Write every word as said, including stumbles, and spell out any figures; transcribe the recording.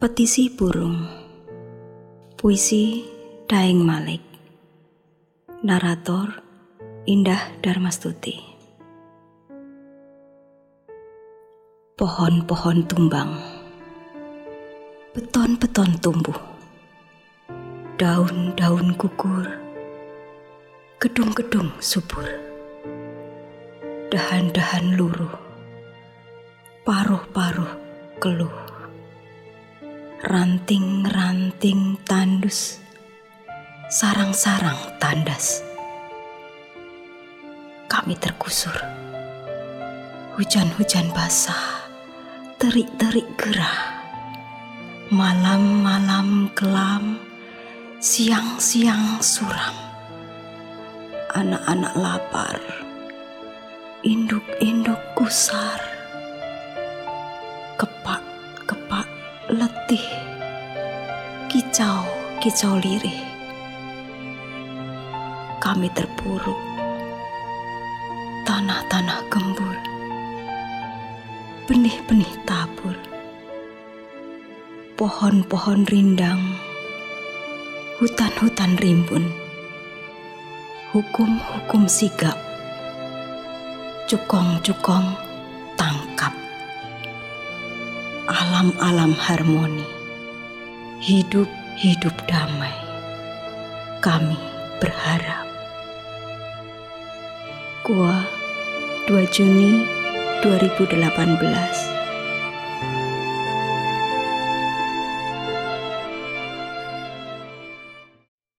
Petisi Burung. Puisi Daeng Malik. Narator Indah Darmastuti. Pohon-pohon tumbang, beton-beton tumbuh, daun-daun gugur, gedung-gedung subur, dahan-dahan luruh, paruh-paruh keluh, ranting-ranting tandus, sarang-sarang tandas. Kami tergusur, hujan-hujan basah, terik-terik gerah, malam-malam kelam, siang-siang suram. Anak-anak lapar, induk-induk gusar, kepak-kepak letih, kicau-kicau lirih. Kami terpuruk, tanah-tanah gembur, benih-benih tabur, pohon-pohon rindang, hutan-hutan rimbun, hukum-hukum sigap, cukong-cukong tangkap, alam-alam harmoni, hidup-hidup damai. Kami berharap. Gua, dua Juni dua ribu delapan belas.